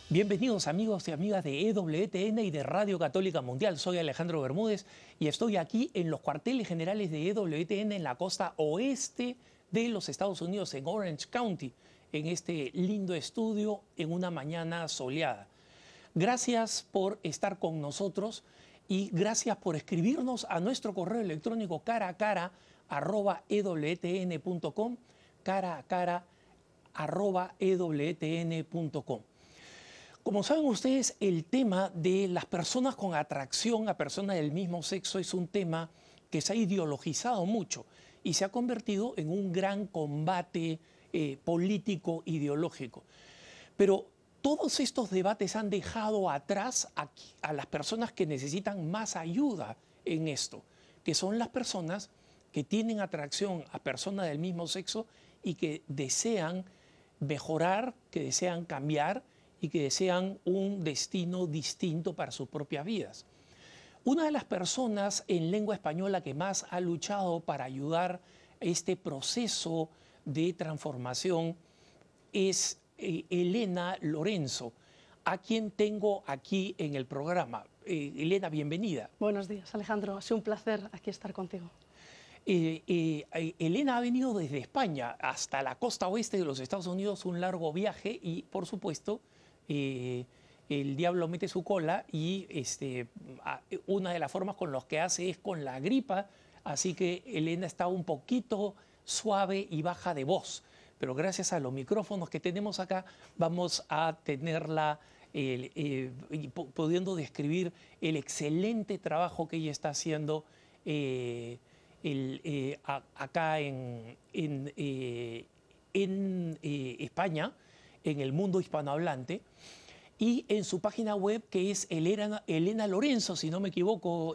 Bienvenidos amigos y amigas de EWTN y de Radio Católica Mundial. Soy Alejandro Bermúdez y estoy aquí en los cuarteles generales de EWTN en la costa oeste de los Estados Unidos, en Orange County, en este lindo estudio en una mañana soleada. Gracias por estar con nosotros y gracias por escribirnos a nuestro correo electrónico caracara@ewtn.com, caracara@ewtn.com. Como saben ustedes, el tema de las personas con atracción a personas del mismo sexo es un tema que se ha ideologizado mucho y se ha convertido en un gran combate político ideológico. Pero todos estos debates han dejado atrás a las personas que necesitan más ayuda en esto, que son las personas que tienen atracción a personas del mismo sexo y que desean mejorar, que desean cambiar y que desean un destino distinto para sus propias vidas. Una de las personas en lengua española que más ha luchado para ayudar a este proceso de transformación es Elena Lorenzo, a quien tengo aquí en el programa. Elena, bienvenida. Buenos días, Alejandro. Ha sido un placer aquí estar contigo. Elena ha venido desde España hasta la costa oeste de los Estados Unidos, un largo viaje y, por supuesto, el diablo mete su cola y una de las formas con las que hace es con la gripa, así que Elena está un poquito suave y baja de voz, pero gracias a los micrófonos que tenemos acá vamos a tenerla pudiendo describir el excelente trabajo que ella está haciendo acá en España, en el mundo hispanohablante, y en su página web que es Elena Lorenzo, si no me equivoco,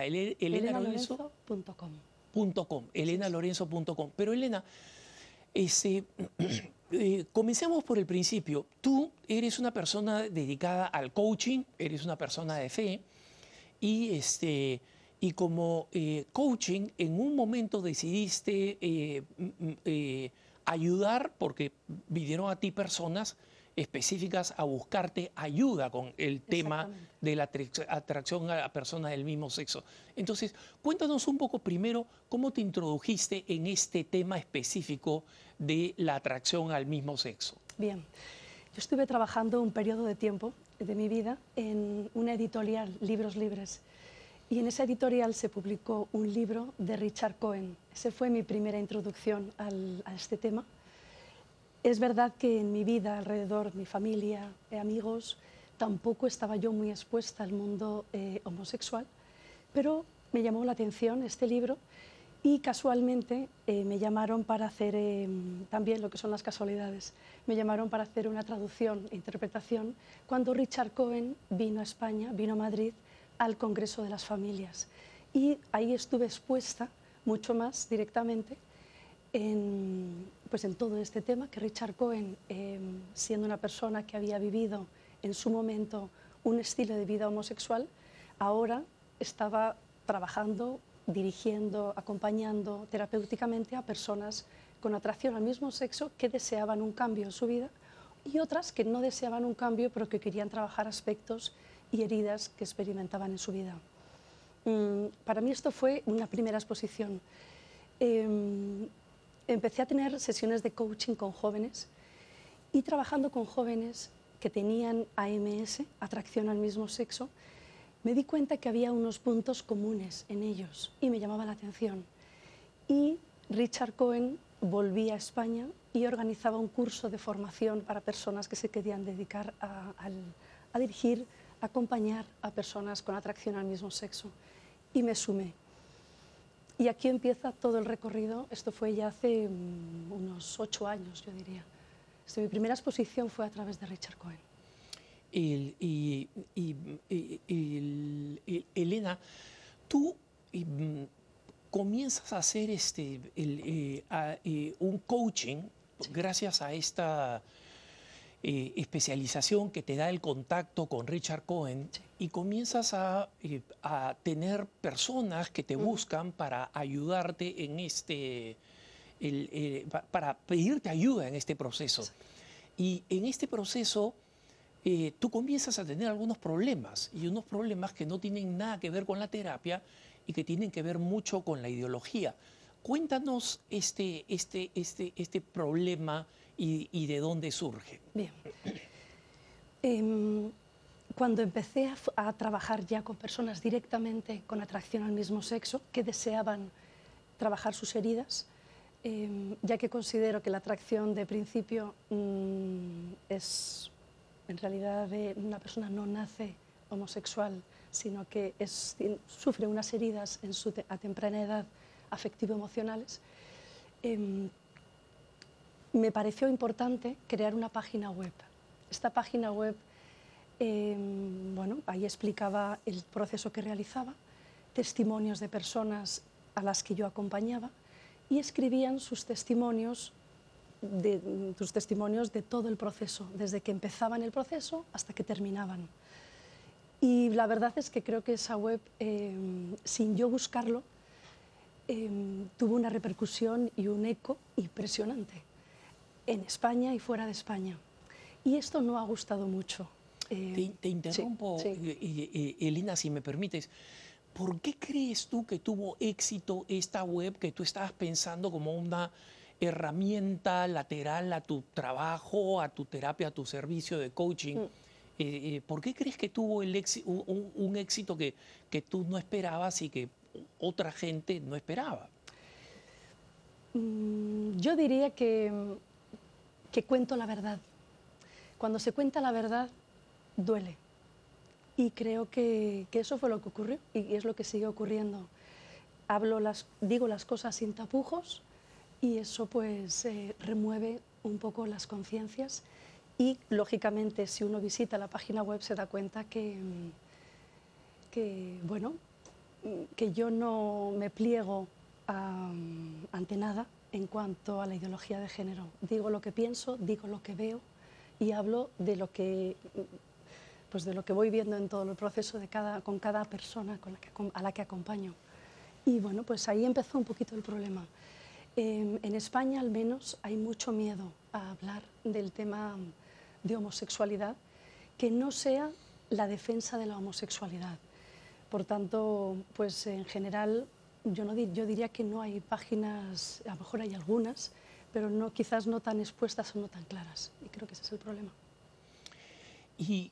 elenalorenzo.com. elenalorenzo.com. Pero Elena, comencemos por el principio. Tú eres una persona dedicada al coaching, eres una persona de fe, y como coaching en un momento decidiste ayudar, porque vinieron a ti personas específicas a buscarte ayuda con el tema de la atracción a personas del mismo sexo. Entonces, cuéntanos un poco primero cómo te introdujiste en este tema específico de la atracción al mismo sexo. Bien, yo estuve trabajando un periodo de tiempo de mi vida en una editorial, Libros Libres, y en esa editorial se publicó un libro de Richard Cohen. Esa fue mi primera introducción a este tema. Es verdad que en mi vida, alrededor, mi familia, amigos, tampoco estaba yo muy expuesta al mundo homosexual, pero me llamó la atención este libro y casualmente me llamaron para hacer, también lo que son las casualidades, me llamaron para hacer una traducción e interpretación cuando Richard Cohen vino a España, vino a Madrid, al Congreso de las Familias. Y ahí estuve expuesta mucho más directamente en todo este tema, que Richard Cohen, siendo una persona que había vivido en su momento un estilo de vida homosexual, ahora estaba trabajando, dirigiendo, acompañando terapéuticamente a personas con atracción al mismo sexo que deseaban un cambio en su vida y otras que no deseaban un cambio pero que querían trabajar aspectos y heridas que experimentaban en su vida. Para mí esto fue una primera exposición. Empecé a tener sesiones de coaching con jóvenes y trabajando con jóvenes que tenían AMS, atracción al mismo sexo, me di cuenta que había unos puntos comunes en ellos y me llamaba la atención. Y Richard Cohen volvía a España y organizaba un curso de formación para personas que se querían dedicar a dirigir, acompañar a personas con atracción al mismo sexo, y me sumé. Y aquí empieza todo el recorrido. Esto fue ya hace unos 8 años, yo diría. Mi primera exposición fue a través de Richard Cohen. Elena, tú comienzas a hacer un coaching, sí, gracias a esta especialización que te da el contacto con Richard Cohen, sí, y comienzas a tener personas que te buscan para ayudarte en para pedirte ayuda en este proceso. Sí. Y en este proceso tú comienzas a tener algunos problemas, y unos problemas que no tienen nada que ver con la terapia y que tienen que ver mucho con la ideología. Cuéntanos este problema y de dónde surge. Bien. Cuando empecé a trabajar ya con personas directamente con atracción al mismo sexo, que deseaban trabajar sus heridas, ya que considero que la atracción de principio es, en realidad, una persona no nace homosexual, sino que sufre unas heridas a temprana edad afectivo-emocionales. Me pareció importante crear una página web. Esta página web, bueno, ahí explicaba el proceso que realizaba, testimonios de personas a las que yo acompañaba, y escribían sus testimonios de todo el proceso, desde que empezaban el proceso hasta que terminaban. Y la verdad es que creo que esa web, sin yo buscarlo, tuvo una repercusión y un eco impresionante en España y fuera de España. Y esto no ha gustado mucho. Te interrumpo, sí. Elena, si me permites. ¿Por qué crees tú que tuvo éxito esta web que tú estabas pensando como una herramienta lateral a tu trabajo, a tu terapia, a tu servicio de coaching? ¿Por qué crees que tuvo un éxito que tú no esperabas y que otra gente no esperaba? Yo diría que cuento la verdad. Cuando se cuenta la verdad, duele. Y creo que eso fue lo que ocurrió y es lo que sigue ocurriendo. Digo las cosas sin tapujos y eso pues remueve un poco las conciencias y lógicamente si uno visita la página web se da cuenta que bueno, que yo no me pliego ante nada en cuanto a la ideología de género. Digo lo que pienso, digo lo que veo y hablo de lo que voy viendo en todo el proceso con cada persona a la que acompaño. Y bueno, pues ahí empezó un poquito el problema. En España al menos hay mucho miedo a hablar del tema de homosexualidad que no sea la defensa de la homosexualidad. Por tanto, pues en general yo diría que no hay páginas, a lo mejor hay algunas, pero quizás no tan expuestas o no tan claras. Y creo que ese es el problema. Y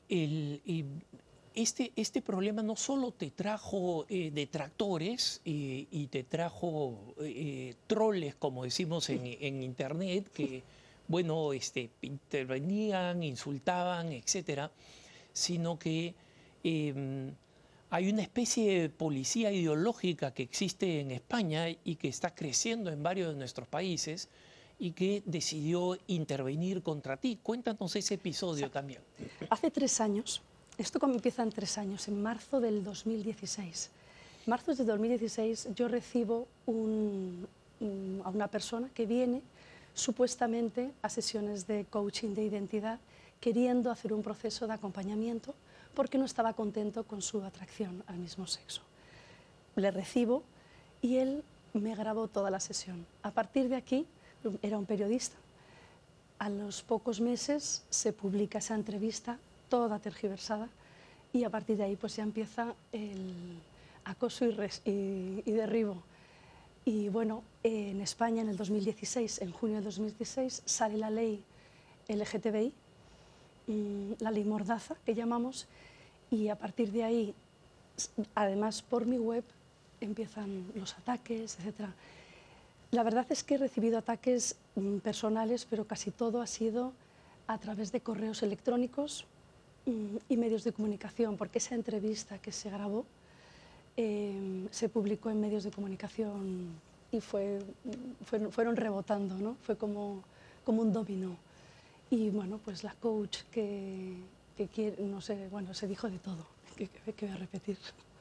este problema no solo te trajo detractores y te trajo troles, como decimos en internet, que, bueno, intervenían, insultaban, etcétera, sino que hay una especie de policía ideológica que existe en España y que está creciendo en varios de nuestros países y que decidió intervenir contra ti. Cuéntanos ese episodio también. Hace 3 años, esto empieza en 3 años, en marzo del 2016. En marzo del 2016 yo recibo a una persona que viene supuestamente a sesiones de coaching de identidad queriendo hacer un proceso de acompañamiento porque no estaba contento con su atracción al mismo sexo. Le recibo y él me grabó toda la sesión. A partir de aquí, era un periodista. A los pocos meses se publica esa entrevista, toda tergiversada, y a partir de ahí pues ya empieza el acoso y derribo. Y bueno, en España en el 2016, en junio del 2016, sale la ley LGTBI, la ley Mordaza, que llamamos, y a partir de ahí, además por mi web, empiezan los ataques, etc. La verdad es que he recibido ataques personales, pero casi todo ha sido a través de correos electrónicos y medios de comunicación, porque esa entrevista que se grabó se publicó en medios de comunicación y fueron rebotando, ¿no? Fue como un dominó. Y bueno, pues la coach que quiere, no sé, bueno, se dijo de todo, que voy a repetir.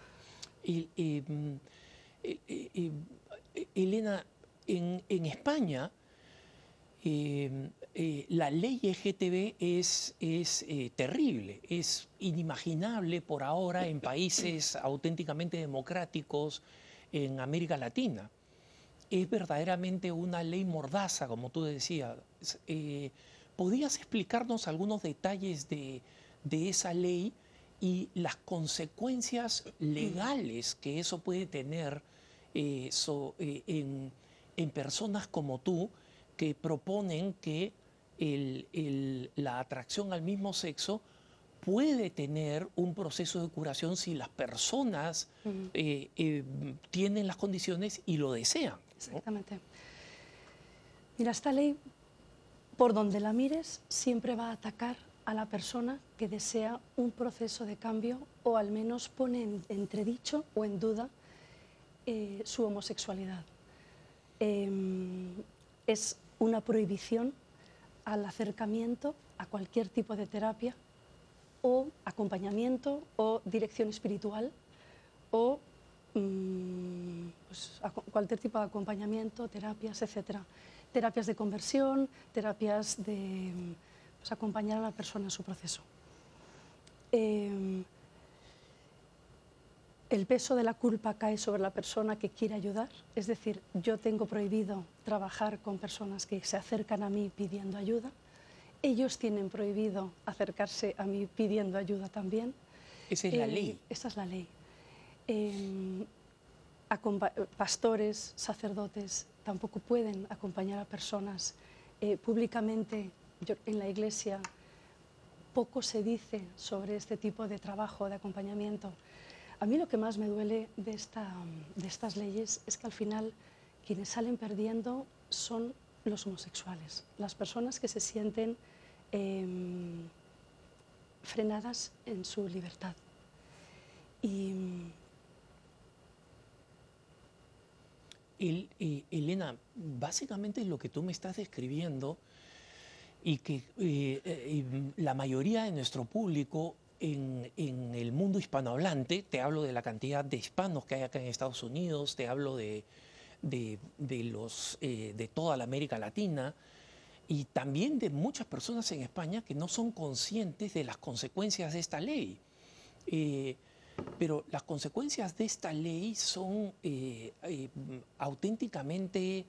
Elena, en España la ley LGTB es terrible, es inimaginable por ahora en países auténticamente democráticos en América Latina. Es verdaderamente una ley mordaza, como tú decías. ¿Podrías explicarnos algunos detalles de de esa ley y las consecuencias legales que eso puede tener en personas como tú que proponen que la atracción al mismo sexo puede tener un proceso de curación si las personas tienen las condiciones y lo desean, ¿no? Exactamente. Mira, esta ley, por donde la mires, siempre va a atacar a la persona que desea un proceso de cambio o al menos pone en entredicho o en duda su homosexualidad. Es una prohibición al acercamiento a cualquier tipo de terapia o acompañamiento o dirección espiritual o pues, cualquier tipo de acompañamiento, terapias, etcétera. Terapias de conversión, terapias de pues, acompañar a la persona en su proceso. El peso de la culpa cae sobre la persona que quiere ayudar, es decir, yo tengo prohibido trabajar con personas que se acercan a mí pidiendo ayuda, ellos tienen prohibido acercarse a mí pidiendo ayuda también. Esa es la ley. Esa es la ley. Pastores, sacerdotes tampoco pueden acompañar a personas públicamente. En la Iglesia poco se dice sobre este tipo de trabajo, de acompañamiento. A mí lo que más me duele de estas leyes es que al final quienes salen perdiendo son los homosexuales, las personas que se sienten frenadas en su libertad. Elena, básicamente lo que tú me estás describiendo y que la mayoría de nuestro público en el mundo hispanohablante, te hablo de la cantidad de hispanos que hay acá en Estados Unidos, te hablo de toda la América Latina y también de muchas personas en España que no son conscientes de las consecuencias de esta ley. Pero las consecuencias de esta ley son auténticamente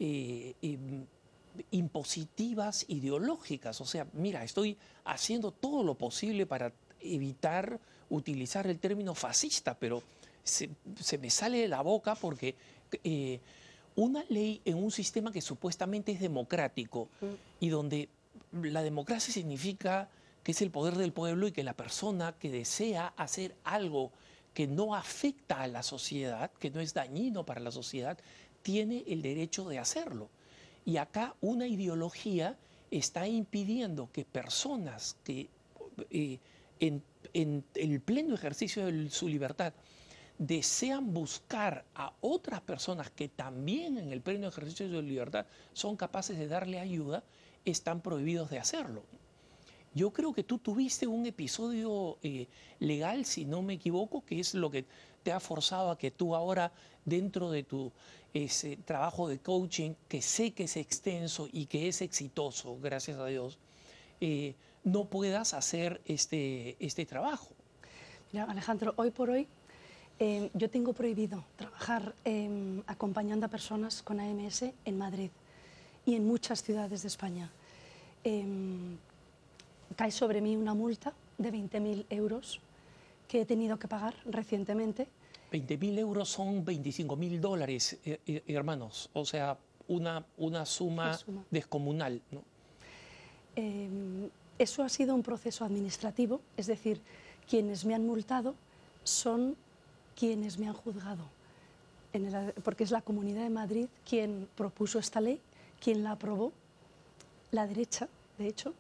impositivas, ideológicas. O sea, mira, estoy haciendo todo lo posible para evitar utilizar el término fascista, pero se me sale de la boca porque una ley en un sistema que supuestamente es democrático y donde la democracia significa que es el poder del pueblo y que la persona que desea hacer algo que no afecta a la sociedad, que no es dañino para la sociedad, tiene el derecho de hacerlo. Y acá una ideología está impidiendo que personas que en el pleno ejercicio de su libertad desean buscar a otras personas que también en el pleno ejercicio de su libertad son capaces de darle ayuda, están prohibidos de hacerlo. Yo creo que tú tuviste un episodio legal, si no me equivoco, que es lo que te ha forzado a que tú ahora, dentro de tu trabajo de coaching, que sé que es extenso y que es exitoso, gracias a Dios, no puedas hacer este trabajo. Mira, Alejandro, hoy por hoy yo tengo prohibido trabajar acompañando a personas con AMS en Madrid y en muchas ciudades de España. Cae sobre mí una multa de 20.000 euros que he tenido que pagar recientemente. 20.000 euros son 25.000 dólares, hermanos, o sea, una suma descomunal, ¿no? Eso ha sido un proceso administrativo, es decir, quienes me han multado son quienes me han juzgado, porque es la Comunidad de Madrid quien propuso esta ley, quien la aprobó, la derecha, de hecho,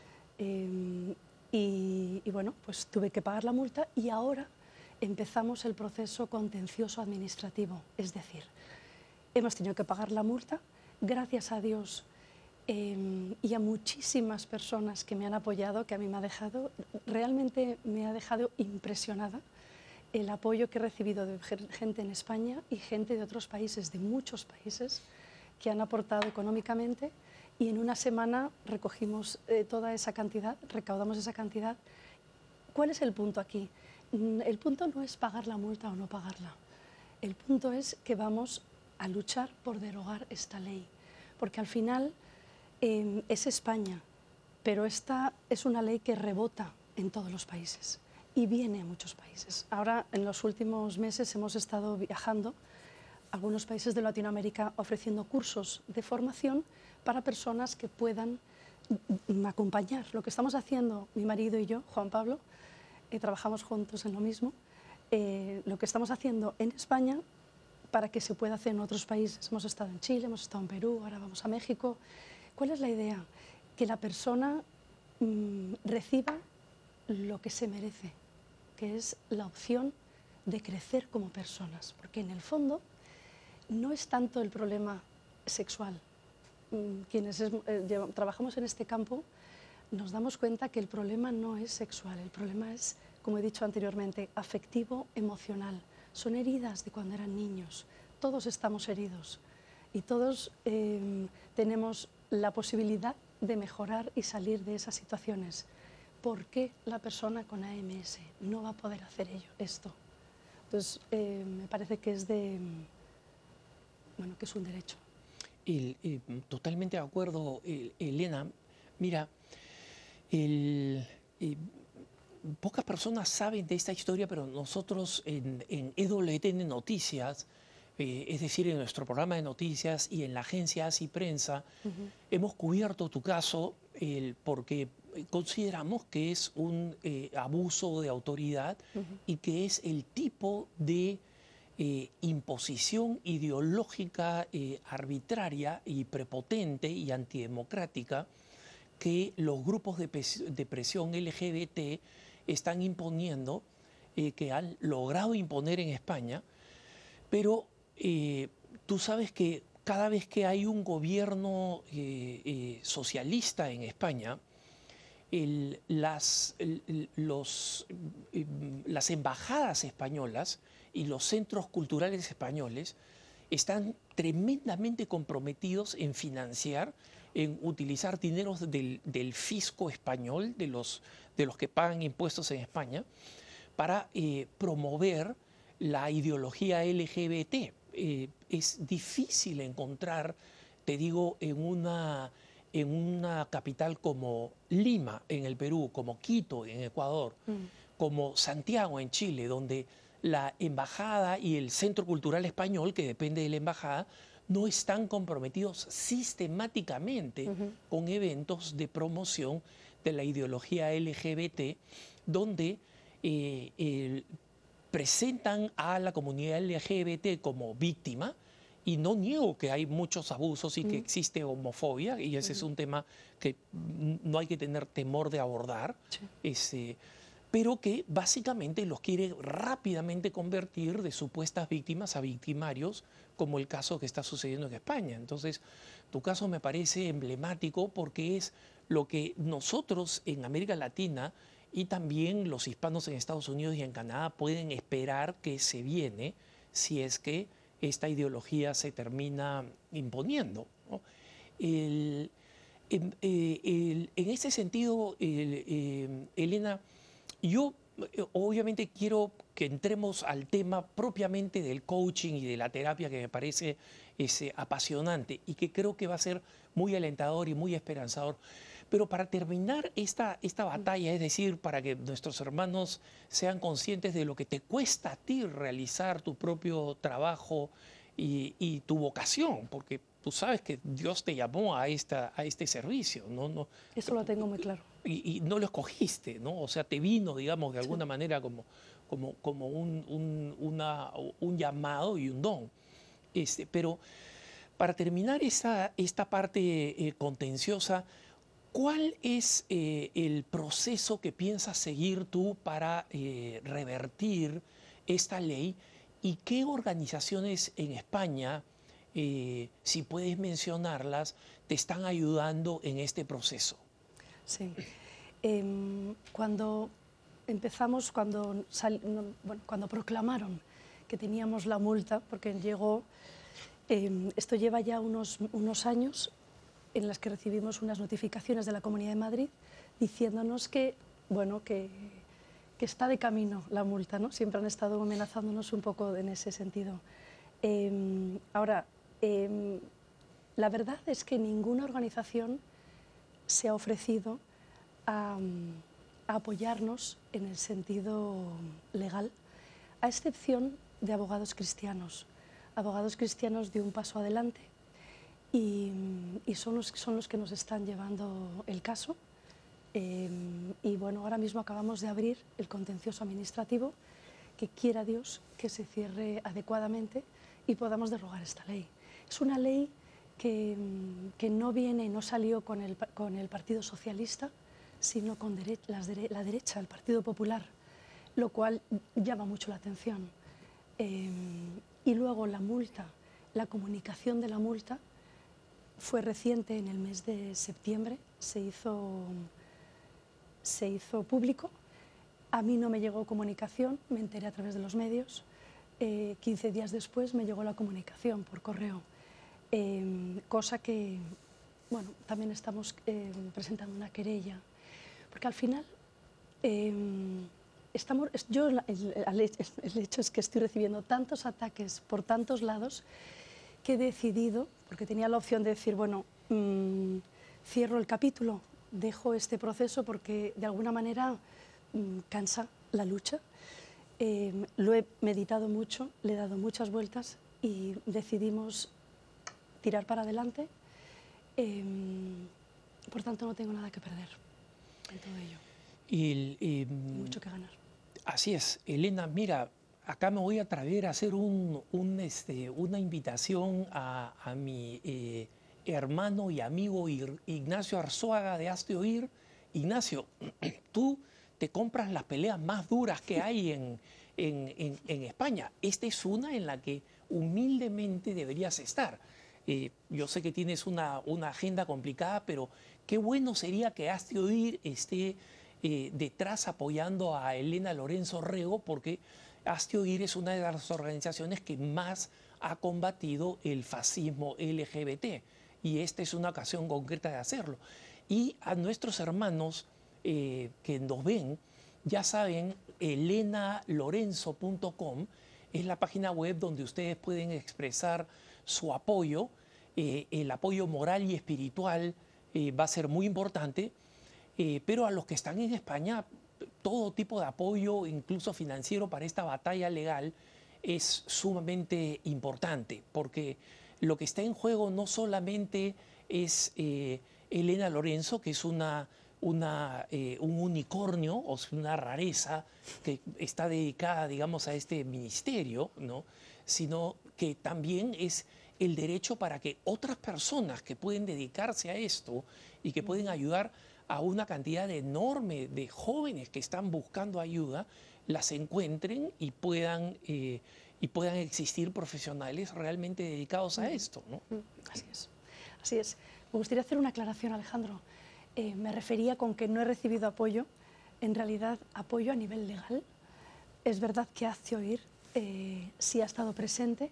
y bueno, pues tuve que pagar la multa y ahora empezamos el proceso contencioso administrativo, es decir, hemos tenido que pagar la multa, gracias a Dios y a muchísimas personas que me han apoyado, que a mí realmente me ha dejado impresionada el apoyo que he recibido de gente en España y gente de otros países, de muchos países, que han aportado económicamente y en una semana recogimos toda esa cantidad, recaudamos esa cantidad. ¿Cuál es el punto aquí? El punto no es pagar la multa o no pagarla. El punto es que vamos a luchar por derogar esta ley, porque al final es España, pero esta es una ley que rebota en todos los países y viene a muchos países. Ahora, en los últimos meses hemos estado viajando a algunos países de Latinoamérica ofreciendo cursos de formación para personas que puedan acompañar. Lo que estamos haciendo, mi marido y yo, Juan Pablo, trabajamos juntos en lo mismo, lo que estamos haciendo en España para que se pueda hacer en otros países. Hemos estado en Chile, hemos estado en Perú, ahora vamos a México. ¿Cuál es la idea? Que la persona reciba lo que se merece, que es la opción de crecer como personas, porque en el fondo no es tanto el problema sexual. Quienes trabajamos en este campo nos damos cuenta que el problema no es sexual, el problema es, como he dicho anteriormente, afectivo, emocional. Son heridas de cuando eran niños. Todos estamos heridos y todos tenemos la posibilidad de mejorar y salir de esas situaciones. ¿Por qué la persona con AMS no va a poder hacer esto? Entonces, me parece que es que es un derecho. Totalmente de acuerdo, Elena. Mira, pocas personas saben de esta historia, pero nosotros en EWTN Noticias, es decir, en nuestro programa de noticias y en la agencia Así Prensa, hemos cubierto tu caso porque consideramos que es un abuso de autoridad y que es el tipo de imposición ideológica arbitraria y prepotente y antidemocrática que los grupos de presión LGBT están imponiendo, que han logrado imponer en España, pero tú sabes que cada vez que hay un gobierno socialista en España, las embajadas españolas y los centros culturales españoles están tremendamente comprometidos en financiar, en utilizar dineros del fisco español, de los que pagan impuestos en España, para promover la ideología LGBT. Es difícil encontrar, te digo, en una capital como Lima, en el Perú, como Quito, en Ecuador, como Santiago, en Chile, donde la embajada y el Centro Cultural Español, que depende de la embajada, no están comprometidos sistemáticamente con eventos de promoción de la ideología LGBT, donde presentan a la comunidad LGBT como víctima. Y no niego que hay muchos abusos y que existe homofobia, y ese es un tema que no hay que tener temor de abordar, pero que básicamente los quiere rápidamente convertir de supuestas víctimas a victimarios, como el caso que está sucediendo en España. Entonces, tu caso me parece emblemático porque es lo que nosotros en América Latina y también los hispanos en Estados Unidos y en Canadá pueden esperar que se viene si es que esta ideología se termina imponiendo, ¿no? En ese sentido, Elena, yo obviamente quiero que entremos al tema propiamente del coaching y de la terapia, que me parece apasionante y que creo que va a ser muy alentador y muy esperanzador. Pero para terminar esta batalla, es decir, para que nuestros hermanos sean conscientes de lo que te cuesta a ti realizar tu propio trabajo y tu vocación, porque tú sabes que Dios te llamó a este servicio, ¿no? Eso lo tengo muy claro. Y no lo escogiste, ¿no? O sea, te vino, digamos, de alguna manera como un llamado y un don. Pero para terminar esta parte contenciosa, ¿cuál es el proceso que piensas seguir tú para revertir esta ley? ¿Y qué organizaciones en España, si puedes mencionarlas, te están ayudando en este proceso? Sí. Cuando empezamos, cuando proclamaron que teníamos la multa, porque llegó, esto lleva ya unos años en las que recibimos unas notificaciones de la Comunidad de Madrid diciéndonos que está de camino la multa, ¿no? Siempre han estado amenazándonos un poco en ese sentido. Ahora, la verdad es que ninguna organización se ha ofrecido a a apoyarnos en el sentido legal, a excepción de abogados cristianos. Abogados cristianos de un paso adelante y son los que nos están llevando el caso. Y bueno, ahora mismo acabamos de abrir el contencioso administrativo, que quiera Dios que se cierre adecuadamente y podamos derogar esta ley. Es una ley que no salió con el Partido Socialista, sino con la derecha, el Partido Popular, lo cual llama mucho la atención. Y luego la multa, la comunicación de la multa fue reciente, en el mes de septiembre se hizo público. A mí no me llegó comunicación, me enteré a través de los medios. 15 días después me llegó la comunicación por correo, cosa que, bueno, también estamos presentando una querella, porque al final el hecho es que estoy recibiendo tantos ataques por tantos lados que he decidido, porque tenía la opción de decir, bueno, cierro el capítulo, dejo este proceso porque de alguna manera cansa la lucha. Lo he meditado mucho, le he dado muchas vueltas y decidimos tirar para adelante. Por tanto, no tengo nada que perder en todo ello. Mucho que ganar. Así es, Elena, mira, acá me voy a atrever a hacer una invitación a mi hermano y amigo Ignacio Arzuaga de Hazte Oír. Ignacio, tú te compras las peleas más duras que hay en España. Esta es una en la que humildemente deberías estar. Yo sé que tienes una agenda complicada, pero qué bueno sería que Hazte Oír esté detrás apoyando a Elena Lorenzo Rego, porque Hazte Oír es una de las organizaciones que más ha combatido el fascismo LGBT, y esta es una ocasión concreta de hacerlo. Y a nuestros hermanos que nos ven, ya saben, elenalorenzo.com es la página web donde ustedes pueden expresar su apoyo. El apoyo moral y espiritual va a ser muy importante, pero a los que están en España, todo tipo de apoyo, incluso financiero, para esta batalla legal es sumamente importante, porque lo que está en juego no solamente es Elena Lorenzo, que es un unicornio, o sea, una rareza que está dedicada, digamos, a este ministerio, ¿no? Sino que también es el derecho para que otras personas que pueden dedicarse a esto y que pueden ayudar a una cantidad enorme de jóvenes que están buscando ayuda, las encuentren y puedan existir profesionales realmente dedicados a esto, ¿no? Así es. Así es. Me gustaría hacer una aclaración, Alejandro. Me refería con que no he recibido apoyo, en realidad apoyo a nivel legal. Es verdad que Hazte Oír sí ha estado presente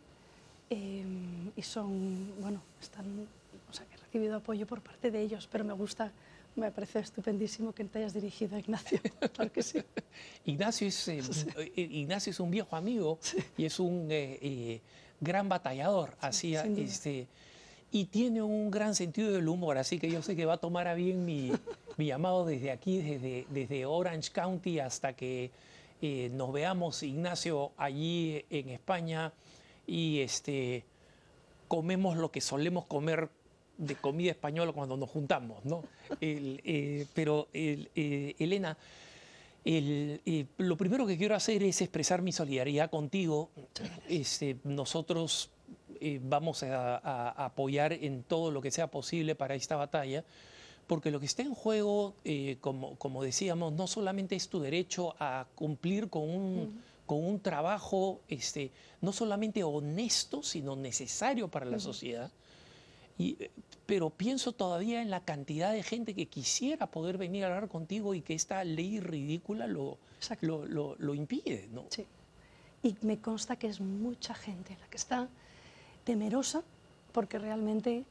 y son, bueno, o sea, que he recibido apoyo por parte de ellos, pero me parece estupendísimo que te hayas dirigido a Ignacio. Claro que sí. Ignacio es un viejo amigo, sí, y es un gran batallador, sí, y tiene un gran sentido del humor, así que yo sé que va a tomar a bien mi llamado desde aquí, desde Orange County, hasta que nos veamos, Ignacio, allí en España, y comemos lo que solemos comer de comida española cuando nos juntamos, ¿no? Pero Elena, lo primero que quiero hacer es expresar mi solidaridad contigo. Nosotros vamos a apoyar en todo lo que sea posible para esta batalla, porque lo que está en juego, como decíamos, no solamente es tu derecho a cumplir con un trabajo no solamente honesto, sino necesario para la sociedad. Pero pienso todavía en la cantidad de gente que quisiera poder venir a hablar contigo y que esta ley ridícula lo impide, ¿no? Sí. Y me consta que es mucha gente la que está temerosa, porque realmente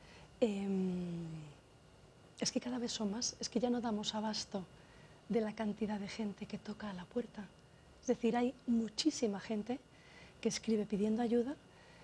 es que cada vez son más, es que ya no damos abasto de la cantidad de gente que toca a la puerta. Es decir, hay muchísima gente que escribe pidiendo ayuda,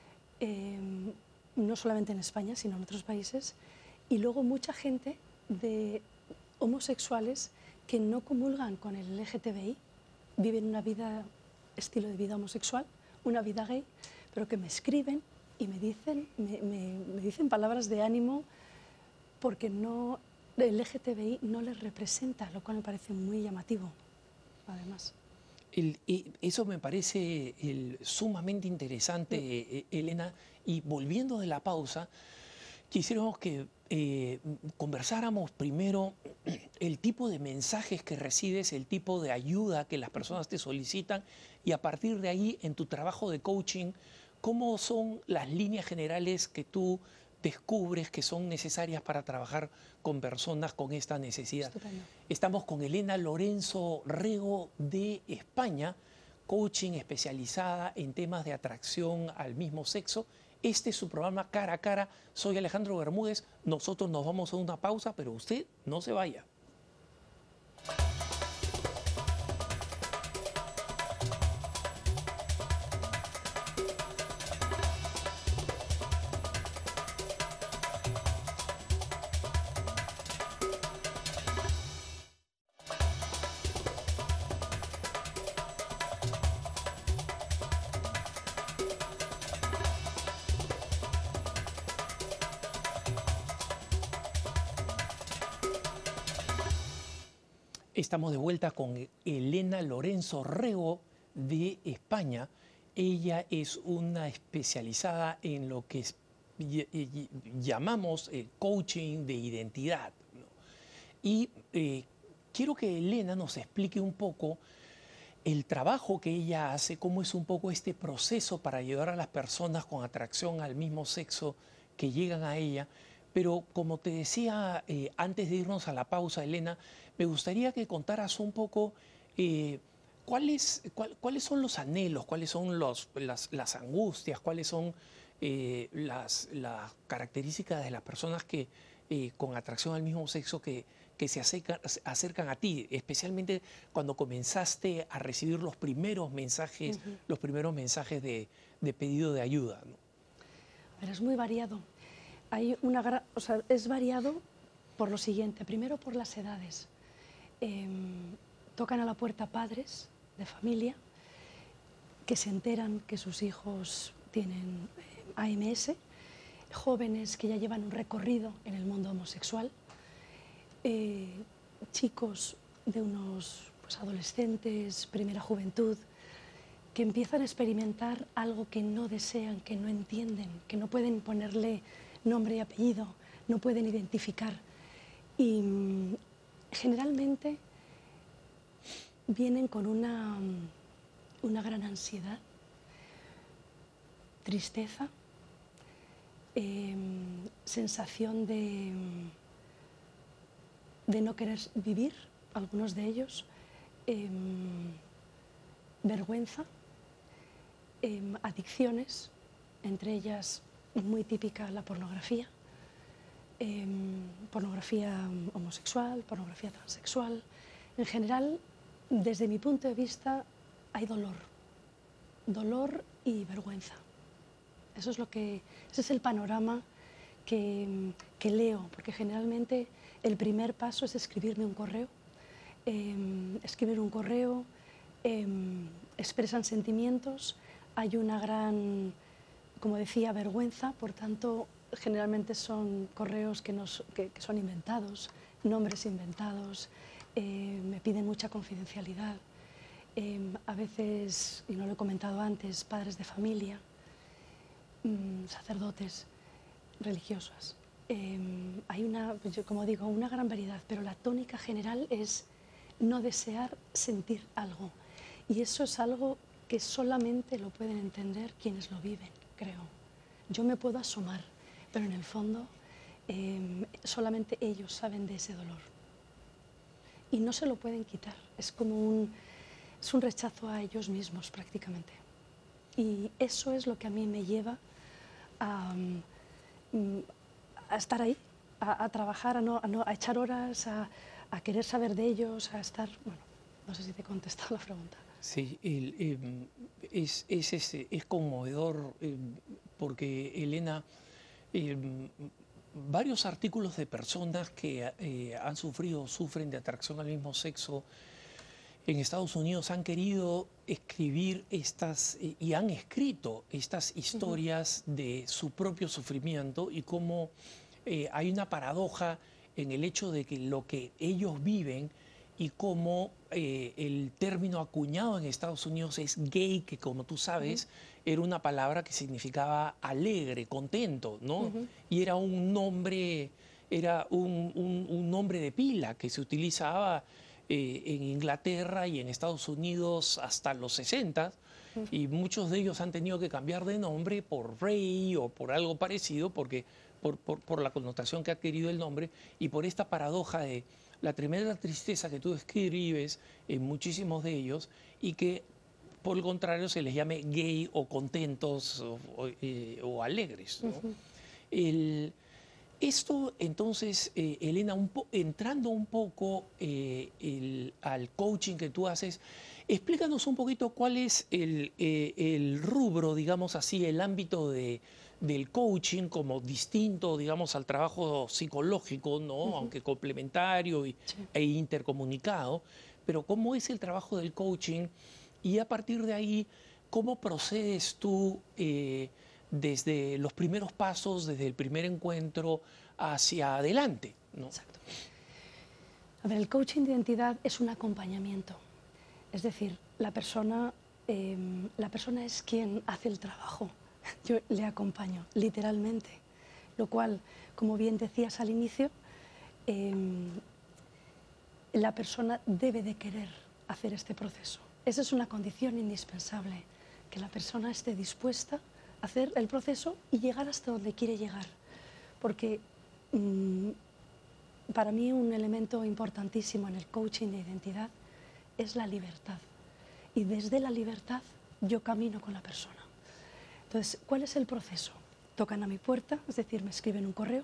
no solamente en España, sino en otros países, y luego mucha gente de homosexuales que no comulgan con el LGTBI, viven una vida, estilo de vida homosexual, una vida gay, pero que me escriben y me dicen palabras de ánimo porque no, el LGTBI no les representa, lo cual me parece muy llamativo, además. Eso me parece sumamente interesante, Elena. Y volviendo de la pausa, quisiéramos que conversáramos primero el tipo de mensajes que recibes, el tipo de ayuda que las personas te solicitan y a partir de ahí, en tu trabajo de coaching, ¿cómo son las líneas generales que tú descubres que son necesarias para trabajar con personas con esta necesidad? Estupendo. Estamos con Elena Lorenzo Rego de España, coaching especializada en temas de atracción al mismo sexo. Este es su programa Cara a Cara. Soy Alejandro Bermúdez. Nosotros nos vamos a una pausa, pero usted no se vaya. Estamos de vuelta con Elena Lorenzo Rego de España. Ella es una especializada en lo que llamamos coaching de identidad, ¿no? Y quiero que Elena nos explique un poco el trabajo que ella hace, cómo es un poco este proceso para ayudar a las personas con atracción al mismo sexo que llegan a ella. Pero como te decía antes de irnos a la pausa, Elena, me gustaría que contaras un poco cuáles son los anhelos, cuáles son las angustias, cuáles son las características de las personas que con atracción al mismo sexo que se acercan a ti, especialmente cuando comenzaste a recibir los primeros mensajes, de pedido de ayuda, ¿no? Pero es muy variado. Hay es variado por lo siguiente. Primero, por las edades. Tocan a la puerta padres de familia que se enteran que sus hijos tienen AMS, jóvenes que ya llevan un recorrido en el mundo homosexual, chicos de unos adolescentes, primera juventud, que empiezan a experimentar algo que no desean, que no entienden, que no pueden ponerle nombre y apellido, no pueden identificar. Y generalmente vienen con una gran ansiedad, tristeza, sensación de no querer vivir, algunos de ellos, vergüenza, adicciones, entre ellas muy típica la pornografía, pornografía homosexual, pornografía transexual. En general, desde mi punto de vista, hay dolor y vergüenza. Ese es el panorama que leo, porque generalmente el primer paso es escribirme un correo. Escribir un correo, expresan sentimientos, hay una gran, como decía, vergüenza, por tanto, generalmente son correos que son inventados, nombres inventados, me piden mucha confidencialidad. A veces, y no lo he comentado antes, padres de familia, sacerdotes, religiosas. Hay como digo, una gran variedad, pero la tónica general es no desear sentir algo. Y eso es algo que solamente lo pueden entender quienes lo viven, creo. Yo me puedo asomar, pero en el fondo solamente ellos saben de ese dolor. Y no se lo pueden quitar, es como es un rechazo a ellos mismos prácticamente. Y eso es lo que a mí me lleva a estar ahí, a trabajar, a echar horas, a querer saber de ellos, a estar... Bueno, no sé si te he contestado la pregunta. Sí, es conmovedor porque, Elena, varios artículos de personas que han sufrido o sufren de atracción al mismo sexo en Estados Unidos han querido escribir estas y han escrito estas historias de su propio sufrimiento y cómo hay una paradoja en el hecho de que lo que ellos viven y cómo el término acuñado en Estados Unidos es gay, que como tú sabes era una palabra que significaba alegre, contento, ¿no? Y era un nombre, un nombre de pila que se utilizaba en Inglaterra y en Estados Unidos hasta los 60 y muchos de ellos han tenido que cambiar de nombre por Ray o por algo parecido porque por la connotación que ha adquirido el nombre y por esta paradoja de la tremenda tristeza que tú describes en muchísimos de ellos y que por el contrario se les llame gay o contentos o alegres, ¿no? Esto entonces, Elena, entrando un poco al coaching que tú haces, explícanos un poquito cuál es el rubro, digamos así, el ámbito del coaching como distinto, digamos, al trabajo psicológico, ¿no? Aunque complementario e intercomunicado, pero cómo es el trabajo del coaching y a partir de ahí, ¿cómo procedes tú desde los primeros pasos, desde el primer encuentro hacia adelante, ¿no? Exacto. A ver, el coaching de identidad es un acompañamiento. Es decir, la persona es quien hace el trabajo. Yo le acompaño, literalmente. Lo cual, como bien decías al inicio, la persona debe de querer hacer este proceso. Esa es una condición indispensable, que la persona esté dispuesta a hacer el proceso y llegar hasta donde quiere llegar. Porque para mí un elemento importantísimo en el coaching de identidad es la libertad. Y desde la libertad yo camino con la persona. Entonces, ¿cuál es el proceso? Tocan a mi puerta, es decir, me escriben un correo.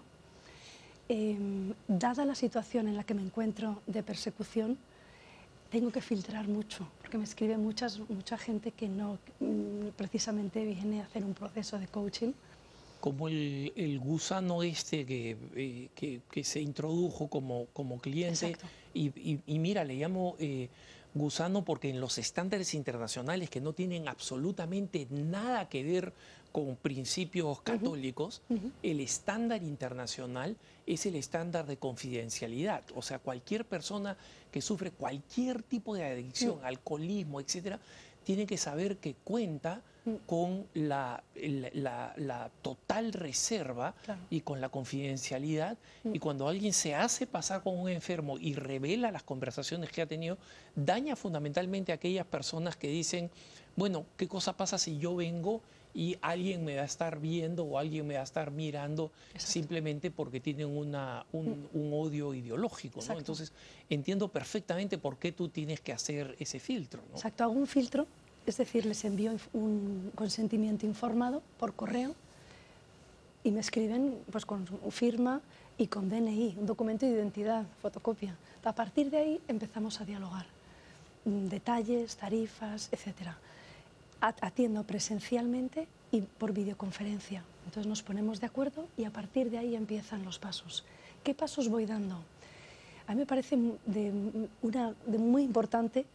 Dada la situación en la que me encuentro de persecución, tengo que filtrar mucho, porque me escribe mucha gente que no precisamente viene a hacer un proceso de coaching. Como el gusano este que se introdujo como cliente. Y mira, le llamo gusano porque en los estándares internacionales que no tienen absolutamente nada que ver con principios católicos, el estándar internacional es el estándar de confidencialidad. O sea, cualquier persona que sufre cualquier tipo de adicción, alcoholismo, etcétera, tiene que saber que cuenta con la total reserva y con la confidencialidad. Y cuando alguien se hace pasar como un enfermo y revela las conversaciones que ha tenido, daña fundamentalmente a aquellas personas que dicen, bueno, ¿qué cosa pasa si yo vengo y alguien me va a estar viendo o alguien me va a estar mirando simplemente porque tienen un odio ideológico, ¿no? Entonces, entiendo perfectamente por qué tú tienes que hacer ese filtro, ¿no? Exacto, hago un filtro, es decir, les envío un consentimiento informado por correo y me escriben pues, con firma y con DNI, un documento de identidad, fotocopia. A partir de ahí empezamos a dialogar, detalles, tarifas, etcétera. Atiendo presencialmente y por videoconferencia. Entonces nos ponemos de acuerdo y a partir de ahí empiezan los pasos. ¿Qué pasos voy dando? A mí me parece muy importante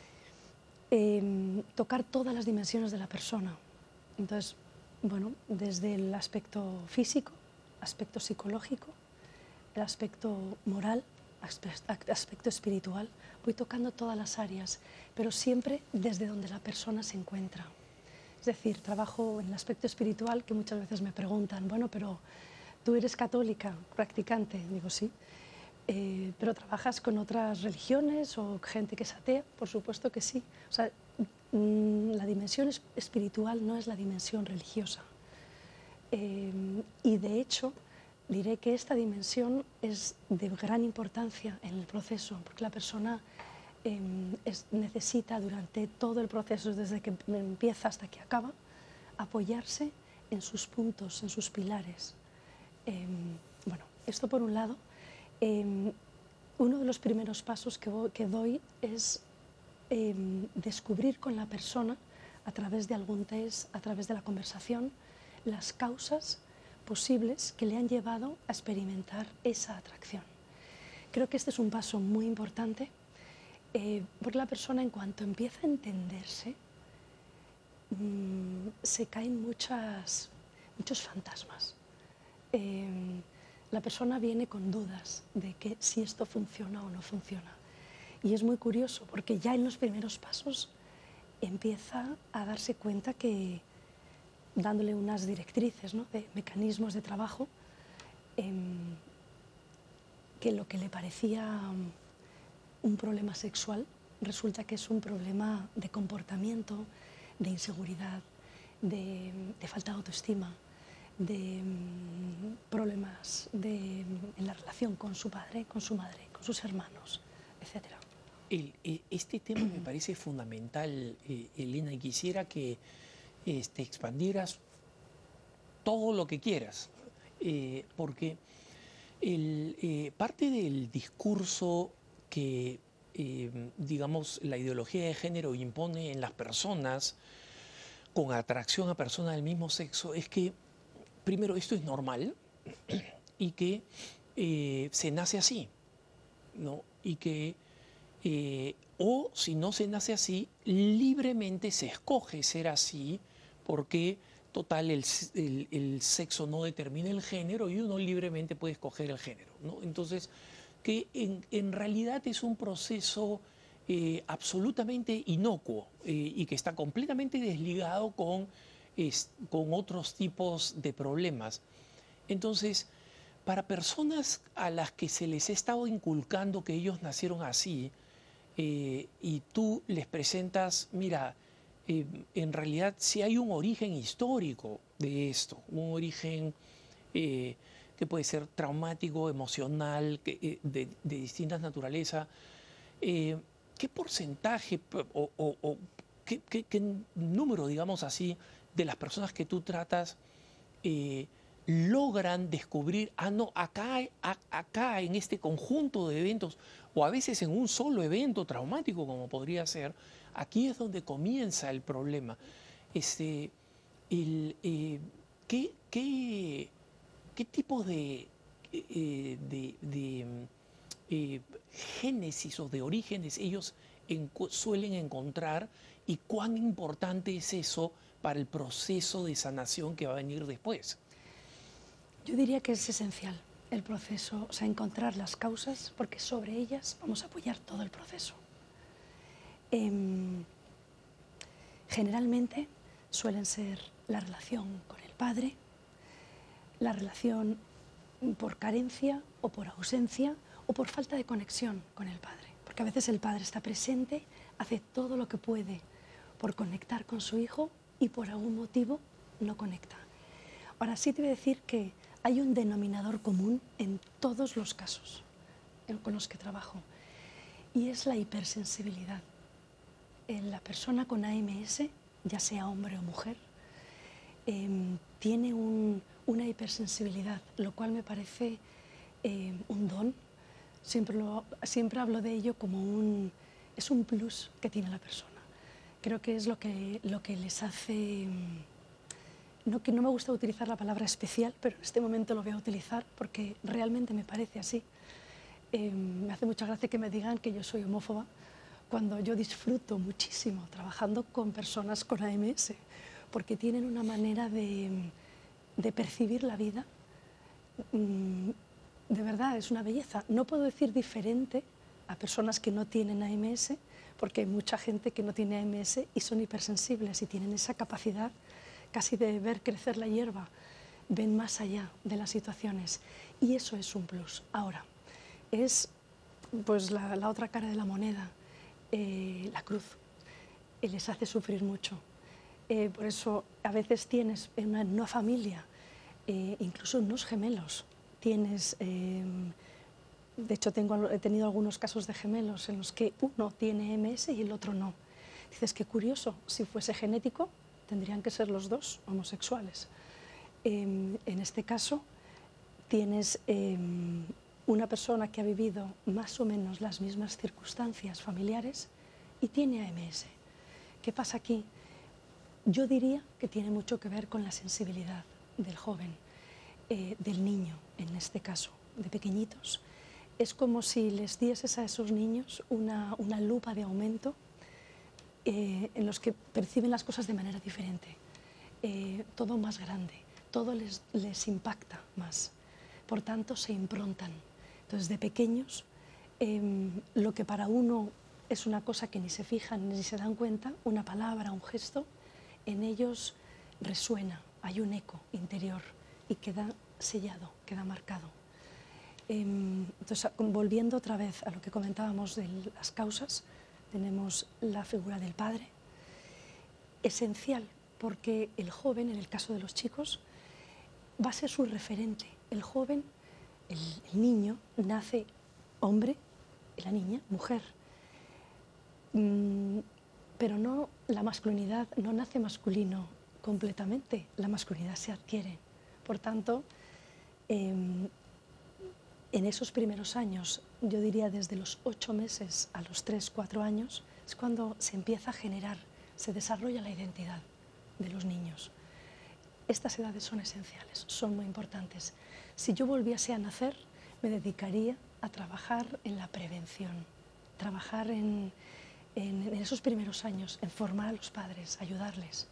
tocar todas las dimensiones de la persona. Entonces, bueno, desde el aspecto físico, aspecto psicológico, el aspecto moral, aspecto espiritual, voy tocando todas las áreas, pero siempre desde donde la persona se encuentra. Es decir, trabajo en el aspecto espiritual, que muchas veces me preguntan, bueno, pero tú eres católica, practicante, digo sí, pero ¿trabajas con otras religiones o gente que es atea? Por supuesto que sí. O sea, la dimensión espiritual no es la dimensión religiosa. Y de hecho, diré que esta dimensión es de gran importancia en el proceso, porque la persona necesita durante todo el proceso, desde que empieza hasta que acaba, apoyarse en sus puntos, en sus pilares. Bueno, esto por un lado. Uno de los primeros pasos que doy es descubrir con la persona, a través de algún test, a través de la conversación, las causas posibles que le han llevado a experimentar esa atracción. Creo que este es un paso muy importante porque la persona, en cuanto empieza a entenderse, se caen muchos fantasmas. La persona viene con dudas de que si esto funciona o no funciona. Y es muy curioso porque ya en los primeros pasos empieza a darse cuenta que, dándole unas directrices, ¿no?, de mecanismos de trabajo, que lo que le parecía un problema sexual resulta que es un problema de comportamiento, de inseguridad, de falta de autoestima, de problemas en la relación con su padre, con su madre, con sus hermanos, etc. Este tema me parece fundamental, Elena, y quisiera que expandieras todo lo que quieras, porque parte del discurso que, digamos, la ideología de género impone en las personas con atracción a personas del mismo sexo es que, primero, esto es normal y que se nace así, ¿no? Y que, o si no se nace así, libremente se escoge ser así porque, total, el sexo no determina el género y uno libremente puede escoger el género, ¿no? Entonces, que en realidad es un proceso absolutamente inocuo y que está completamente desligado con otros tipos de problemas. Entonces, para personas a las que se les ha estado inculcando que ellos nacieron así, y tú les presentas, mira, en realidad sí hay un origen histórico de esto, un origen que puede ser traumático, emocional, de distintas naturalezas. ¿Qué porcentaje o qué número, digamos así, de las personas que tú tratas logran descubrir, no, acá en este conjunto de eventos, o a veces en un solo evento traumático como podría ser, aquí es donde comienza el problema? El, ¿qué tipo de génesis o de orígenes ellos suelen encontrar y cuán importante es eso para el proceso de sanación que va a venir después? Yo diría que es esencial el proceso, o sea, encontrar las causas, porque sobre ellas vamos a apoyar todo el proceso. Generalmente suelen ser la relación con el padre, la relación por carencia o por ausencia o por falta de conexión con el padre, porque a veces el padre está presente, hace todo lo que puede por conectar con su hijo y por algún motivo no conecta. Ahora sí te voy a decir que hay un denominador común en todos los casos con los que trabajo, y es la hipersensibilidad. La persona con AMS, ya sea hombre o mujer, tiene una hipersensibilidad, lo cual me parece un don. Siempre hablo de ello como es un plus que tiene la persona. Creo que es lo que les hace... No, que no me gusta utilizar la palabra especial, pero en este momento lo voy a utilizar porque realmente me parece así. Me hace mucha gracia que me digan que yo soy homófoba, cuando yo disfruto muchísimo trabajando con personas con AMS, porque tienen una manera de percibir la vida, de verdad, es una belleza. No puedo decir diferente a personas que no tienen AMS, porque hay mucha gente que no tiene AMS y son hipersensibles y tienen esa capacidad casi de ver crecer la hierba, ven más allá de las situaciones, y eso es un plus. Ahora, es pues la otra cara de la moneda, la cruz, les hace sufrir mucho. Por eso a veces tienes en una familia, incluso unos gemelos, tienes, de hecho he tenido algunos casos de gemelos en los que uno tiene MS y el otro no. Dices, qué curioso, si fuese genético tendrían que ser los dos homosexuales. En este caso tienes una persona que ha vivido más o menos las mismas circunstancias familiares y tiene AMS. ¿Qué pasa aquí? Yo diría que tiene mucho que ver con la sensibilidad del joven. del niño, en este caso, de pequeñitos. Es como si les dieses a esos niños una lupa de aumento en los que perciben las cosas de manera diferente, todo más grande, todo les impacta más, por tanto se improntan. Entonces, de pequeños, lo que para uno es una cosa que ni se fijan ni se dan cuenta, una palabra, un gesto, en ellos resuena, hay un eco interior y queda sellado, queda marcado. Entonces, volviendo otra vez a lo que comentábamos de las causas, tenemos la figura del padre, esencial, porque el joven, en el caso de los chicos, va a ser su referente. El joven, el niño, nace hombre y la niña, mujer. Pero no, la masculinidad no nace masculino completamente, la masculinidad se adquiere. Por tanto, en esos primeros años, yo diría desde los 8 meses a los 3, 4 años, es cuando se empieza a generar, se desarrolla la identidad de los niños. Estas edades son esenciales, son muy importantes. Si yo volviese a nacer, me dedicaría a trabajar en la prevención, trabajar en esos primeros años, en formar a los padres, ayudarles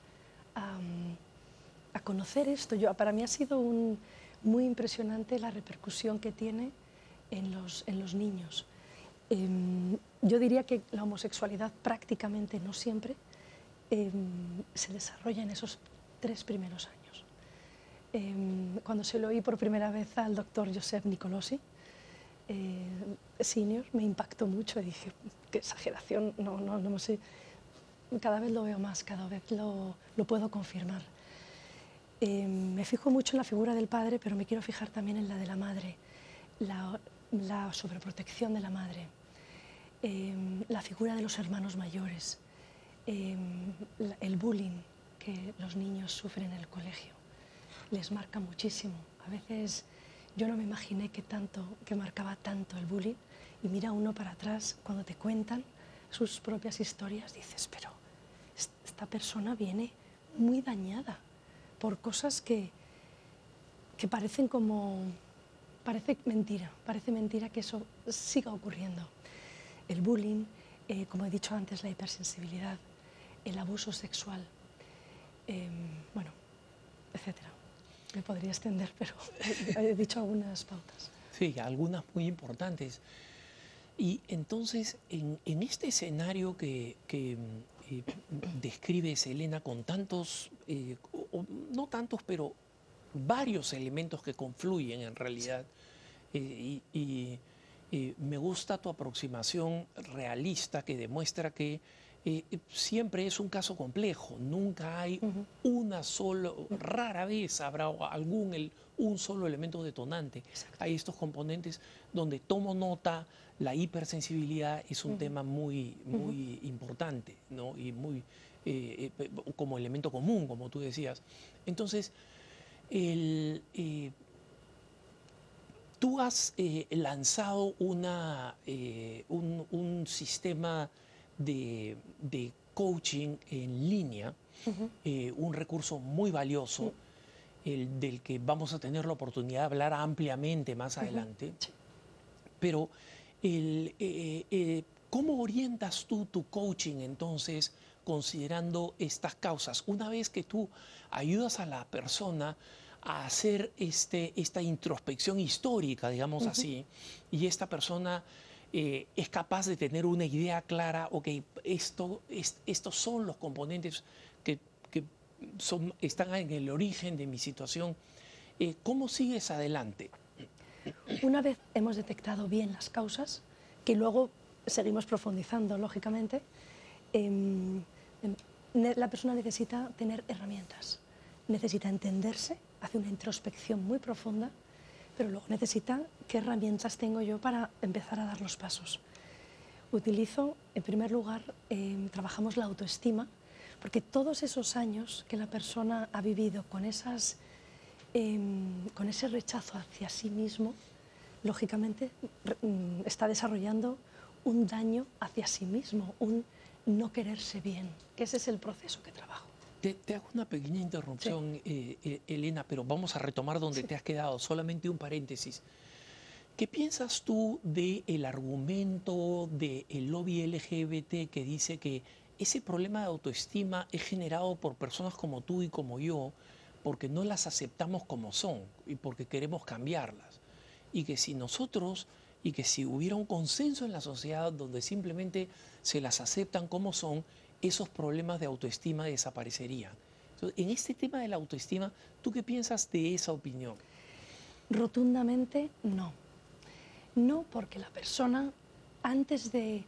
a conocer esto. Para mí ha sido muy impresionante la repercusión que tiene en los niños. Yo diría que la homosexualidad prácticamente, no siempre, se desarrolla en esos 3 primeros años. Cuando se lo oí por primera vez al doctor Joseph Nicolosi, senior, me impactó mucho y dije, qué exageración, no sé, cada vez lo veo más, cada vez lo puedo confirmar. Me fijo mucho en la figura del padre, pero me quiero fijar también en la de la madre, la sobreprotección de la madre, la figura de los hermanos mayores, el bullying que los niños sufren en el colegio. Les marca muchísimo. A veces yo no me imaginé que marcaba tanto el bullying, y mira uno para atrás, cuando te cuentan sus propias historias, dices, pero esta persona viene muy dañada por cosas que parecen parece mentira que eso siga ocurriendo. El bullying, como he dicho antes, la hipersensibilidad, el abuso sexual, bueno, etcétera. Me podría extender, pero he dicho algunas pautas. Sí, algunas muy importantes. Y entonces, en este escenario que describes, Elena, con tantos, no tantos, pero varios elementos que confluyen en realidad, me gusta tu aproximación realista que demuestra que siempre es un caso complejo, nunca hay rara vez habrá un solo elemento detonante. Exacto. Hay estos componentes donde tomo nota, la hipersensibilidad es un tema muy importante, ¿no? Y muy como elemento común, como tú decías. Entonces, tú has lanzado un sistema de coaching en línea, un recurso muy valioso, del que vamos a tener la oportunidad de hablar ampliamente más adelante. Sí. Pero, ¿cómo orientas tú tu coaching entonces, considerando estas causas? Una vez que tú ayudas a la persona a hacer esta introspección histórica, digamos así, y esta persona es capaz de tener una idea clara, ok, estos son los componentes que están en el origen de mi situación. ¿Cómo sigues adelante? Una vez hemos detectado bien las causas, que luego seguimos profundizando, lógicamente, la persona necesita tener herramientas, necesita entenderse, hace una introspección muy profunda, pero luego necesita qué herramientas tengo yo para empezar a dar los pasos. Utilizo, en primer lugar, trabajamos la autoestima, porque todos esos años que la persona ha vivido con ese rechazo hacia sí mismo, lógicamente está desarrollando un daño hacia sí mismo, un no quererse bien, que ese es el proceso que trabajo. Te hago una pequeña interrupción, Elena, pero vamos a retomar donde te has quedado, solamente un paréntesis. ¿Qué piensas tú del argumento del lobby LGBT que dice que ese problema de autoestima es generado por personas como tú y como yo porque no las aceptamos como son y porque queremos cambiarlas? Y que si nosotros, y que si hubiera un consenso en la sociedad donde simplemente se las aceptan como son, esos problemas de autoestima desaparecerían. Entonces, en este tema de la autoestima, ¿tú qué piensas de esa opinión? Rotundamente no. No, porque la persona, antes de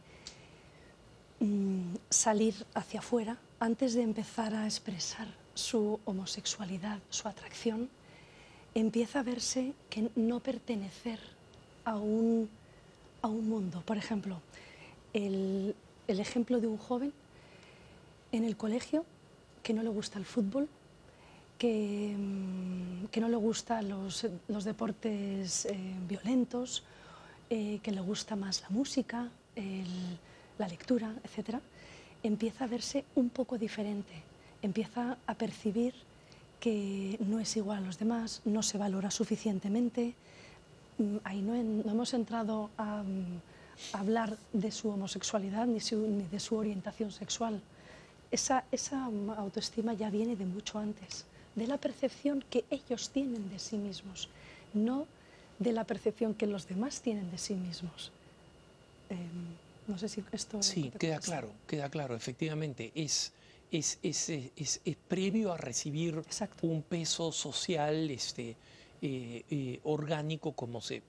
salir hacia afuera, antes de empezar a expresar su homosexualidad, su atracción, empieza a verse que no pertenecer a un mundo. Por ejemplo, el ejemplo de un joven en el colegio que no le gusta el fútbol, que no le gustan los deportes violentos, que le gusta más la música, la lectura, etc., empieza a verse un poco diferente, empieza a percibir que no es igual a los demás, no se valora suficientemente. Ahí no hemos entrado a hablar de su homosexualidad ni de su orientación sexual. Esa autoestima ya viene de mucho antes, de la percepción que ellos tienen de sí mismos, no de la percepción que los demás tienen de sí mismos. No sé si esto... Sí, queda claro, efectivamente. Es previo a recibir Exacto. un peso social orgánico como se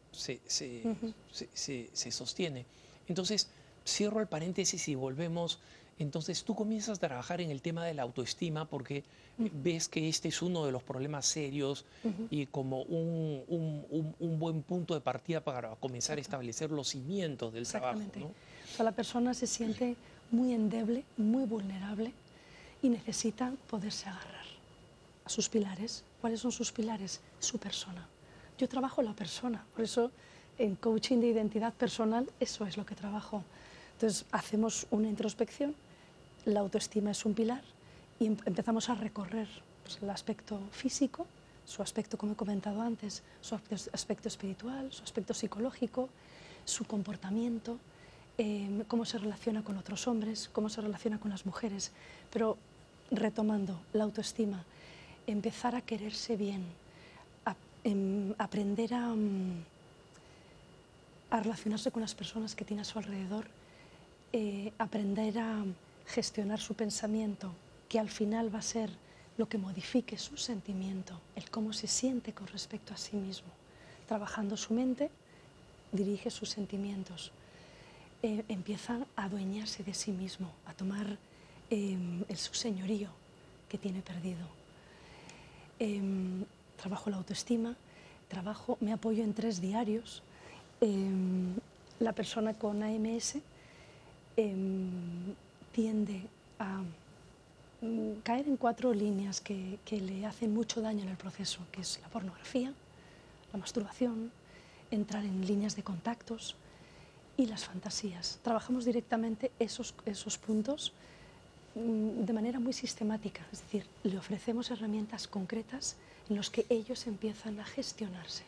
sostiene. Entonces, cierro el paréntesis y volvemos. Entonces, tú comienzas a trabajar en el tema de la autoestima porque ves que este es uno de los problemas serios y como un buen punto de partida para comenzar a establecer los cimientos del trabajo, ¿no? O sea, la persona se siente muy endeble, muy vulnerable y necesita poderse agarrar a sus pilares. ¿Cuáles son sus pilares? Su persona. Yo trabajo la persona, por eso en coaching de identidad personal eso es lo que trabajo. Entonces hacemos una introspección, la autoestima es un pilar y empezamos a recorrer pues, el aspecto físico, su aspecto, como he comentado antes, su aspecto espiritual, su aspecto psicológico, su comportamiento, cómo se relaciona con otros hombres, cómo se relaciona con las mujeres. Pero retomando la autoestima, empezar a quererse bien, aprender a relacionarse con las personas que tiene a su alrededor, aprender a gestionar su pensamiento, que al final va a ser lo que modifique su sentimiento, el cómo se siente con respecto a sí mismo. Trabajando su mente, dirige sus sentimientos. Empieza a adueñarse de sí mismo, a tomar su señorío que tiene perdido. Trabajo la autoestima, me apoyo en 3 diarios. La persona con AMS tiende a caer en 4 líneas que le hacen mucho daño en el proceso, que es la pornografía, la masturbación, entrar en líneas de contactos y las fantasías. Trabajamos directamente esos puntos de manera muy sistemática, es decir, le ofrecemos herramientas concretas en los que ellos empiezan a gestionarse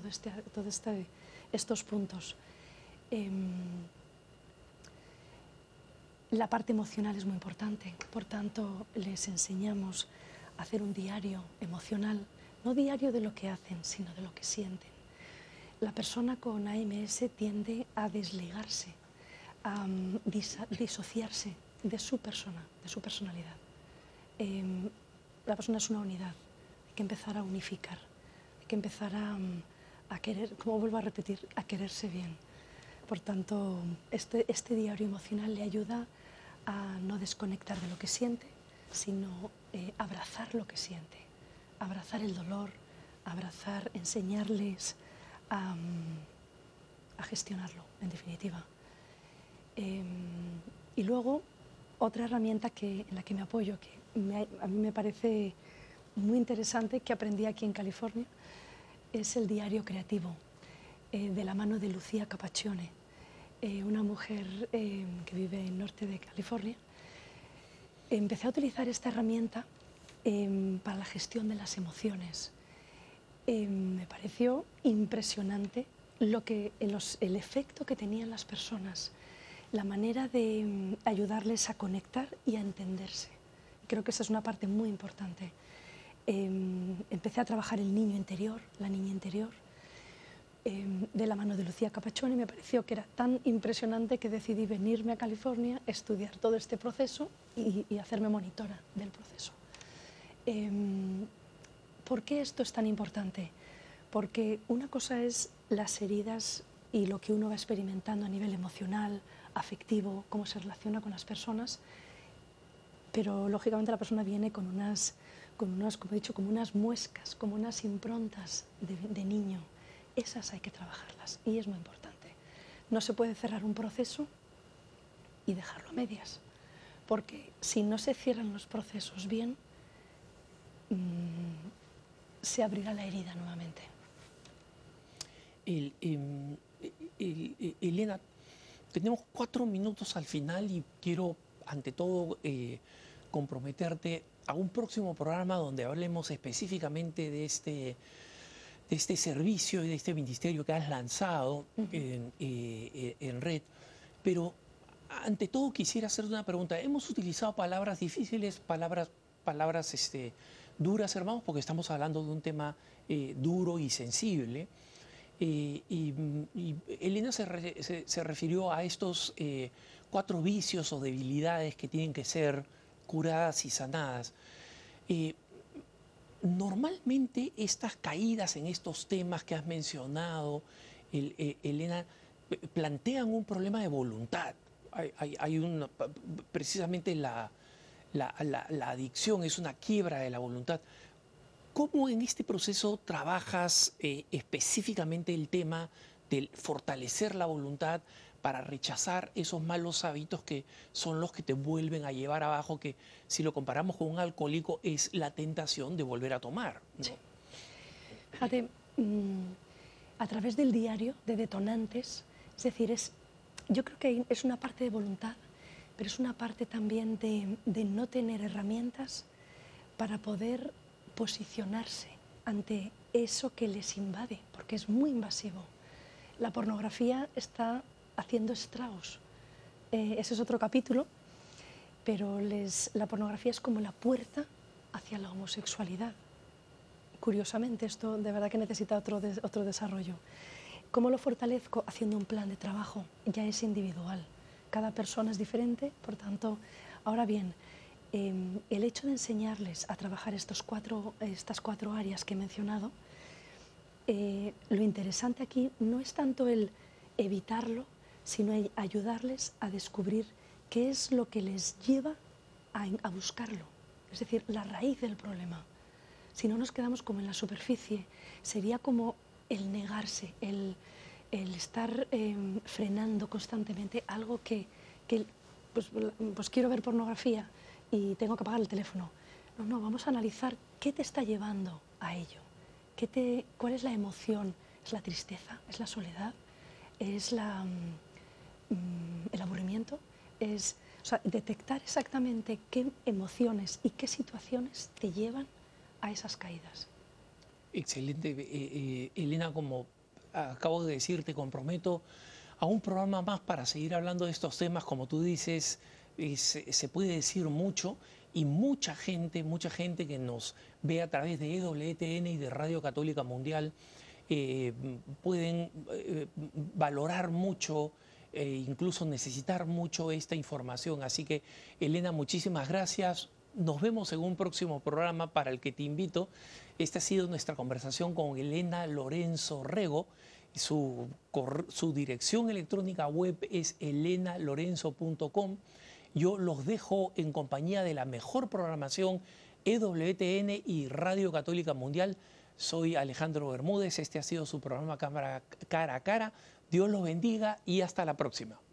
estos puntos. La parte emocional es muy importante, por tanto les enseñamos a hacer un diario emocional, no diario de lo que hacen, sino de lo que sienten. La persona con AMS tiende a desligarse, a disociarse de su persona, de su personalidad. La persona es una unidad, hay que empezar a unificar, hay que empezar a querer, como vuelvo a repetir, a quererse bien. Por tanto, este diario emocional le ayuda a no desconectar de lo que siente, sino abrazar lo que siente, abrazar el dolor, enseñarles a gestionarlo, en definitiva. Y luego, otra herramienta en la que me apoyo, que a mí me parece muy interesante, que aprendí aquí en California, es el diario creativo, de la mano de Lucía Capaccione, una mujer que vive en el norte de California. Empecé a utilizar esta herramienta para la gestión de las emociones. Me pareció impresionante el efecto que tenían las personas, la manera de ayudarles a conectar y a entenderse. Creo que esa es una parte muy importante. Empecé a trabajar el niño interior, la niña interior, de la mano de Lucía Capachoni. Me pareció que era tan impresionante que decidí venirme a California, estudiar todo este proceso y hacerme monitora del proceso. ¿Por qué esto es tan importante? Porque una cosa es las heridas y lo que uno va experimentando a nivel emocional, afectivo, cómo se relaciona con las personas, pero lógicamente la persona viene con unas, como he dicho, como unas muescas, como unas improntas de niño. Esas hay que trabajarlas y es muy importante. No se puede cerrar un proceso y dejarlo a medias, porque si no se cierran los procesos bien, se abrirá la herida nuevamente. Elena, tenemos 4 minutos al final y quiero, ante todo, comprometerte a un próximo programa donde hablemos específicamente de este servicio y de este ministerio que has lanzado en red. Pero, ante todo, quisiera hacerte una pregunta. Hemos utilizado palabras difíciles, palabras duras, hermanos, porque estamos hablando de un tema duro y sensible. Y Elena se refirió a estos 4 vicios o debilidades que tienen que ser curadas y sanadas. Normalmente estas caídas en estos temas que has mencionado, Elena, plantean un problema de voluntad. Precisamente la adicción es una quiebra de la voluntad. ¿Cómo en este proceso trabajas específicamente el tema de fortalecer la voluntad para rechazar esos malos hábitos que son los que te vuelven a llevar abajo, que si lo comparamos con un alcohólico es la tentación de volver a tomar, ¿no? Sí. Fíjate, a través del diario de detonantes, es decir, yo creo que es una parte de voluntad, pero es una parte también de no tener herramientas para poder posicionarse ante eso que les invade, porque es muy invasivo. La pornografía está haciendo estragos. Ese es otro capítulo, pero la pornografía es como la puerta hacia la homosexualidad. Curiosamente, esto de verdad que necesita otro desarrollo. ¿Cómo lo fortalezco? Haciendo un plan de trabajo. Ya es individual. Cada persona es diferente, por tanto, ahora bien, el hecho de enseñarles a trabajar estas 4 áreas que he mencionado, lo interesante aquí no es tanto el evitarlo, sino el ayudarles a descubrir qué es lo que les lleva a buscarlo, es decir, la raíz del problema. Si no nos quedamos como en la superficie, sería como el negarse, el estar frenando constantemente algo que pues quiero ver pornografía y tengo que apagar el teléfono. No, vamos a analizar qué te está llevando a ello. ¿Cuál es la emoción? ¿Es la tristeza? ¿Es la soledad? ¿Es el aburrimiento? O sea, detectar exactamente qué emociones y qué situaciones te llevan a esas caídas. Excelente. Elena, como acabo de decir, te comprometo a un programa más para seguir hablando de estos temas. Como tú dices, se puede decir mucho y mucha gente que nos ve a través de EWTN y de Radio Católica Mundial pueden valorar mucho, incluso necesitar mucho esta información. Así que, Elena, muchísimas gracias. Nos vemos en un próximo programa para el que te invito. Esta ha sido nuestra conversación con Elena Lorenzo Rego. Su dirección electrónica web es elenalorenzo.com. Yo los dejo en compañía de la mejor programación, EWTN y Radio Católica Mundial. Soy Alejandro Bermúdez. Este ha sido su programa Cámara Cara a Cara. Dios los bendiga y hasta la próxima.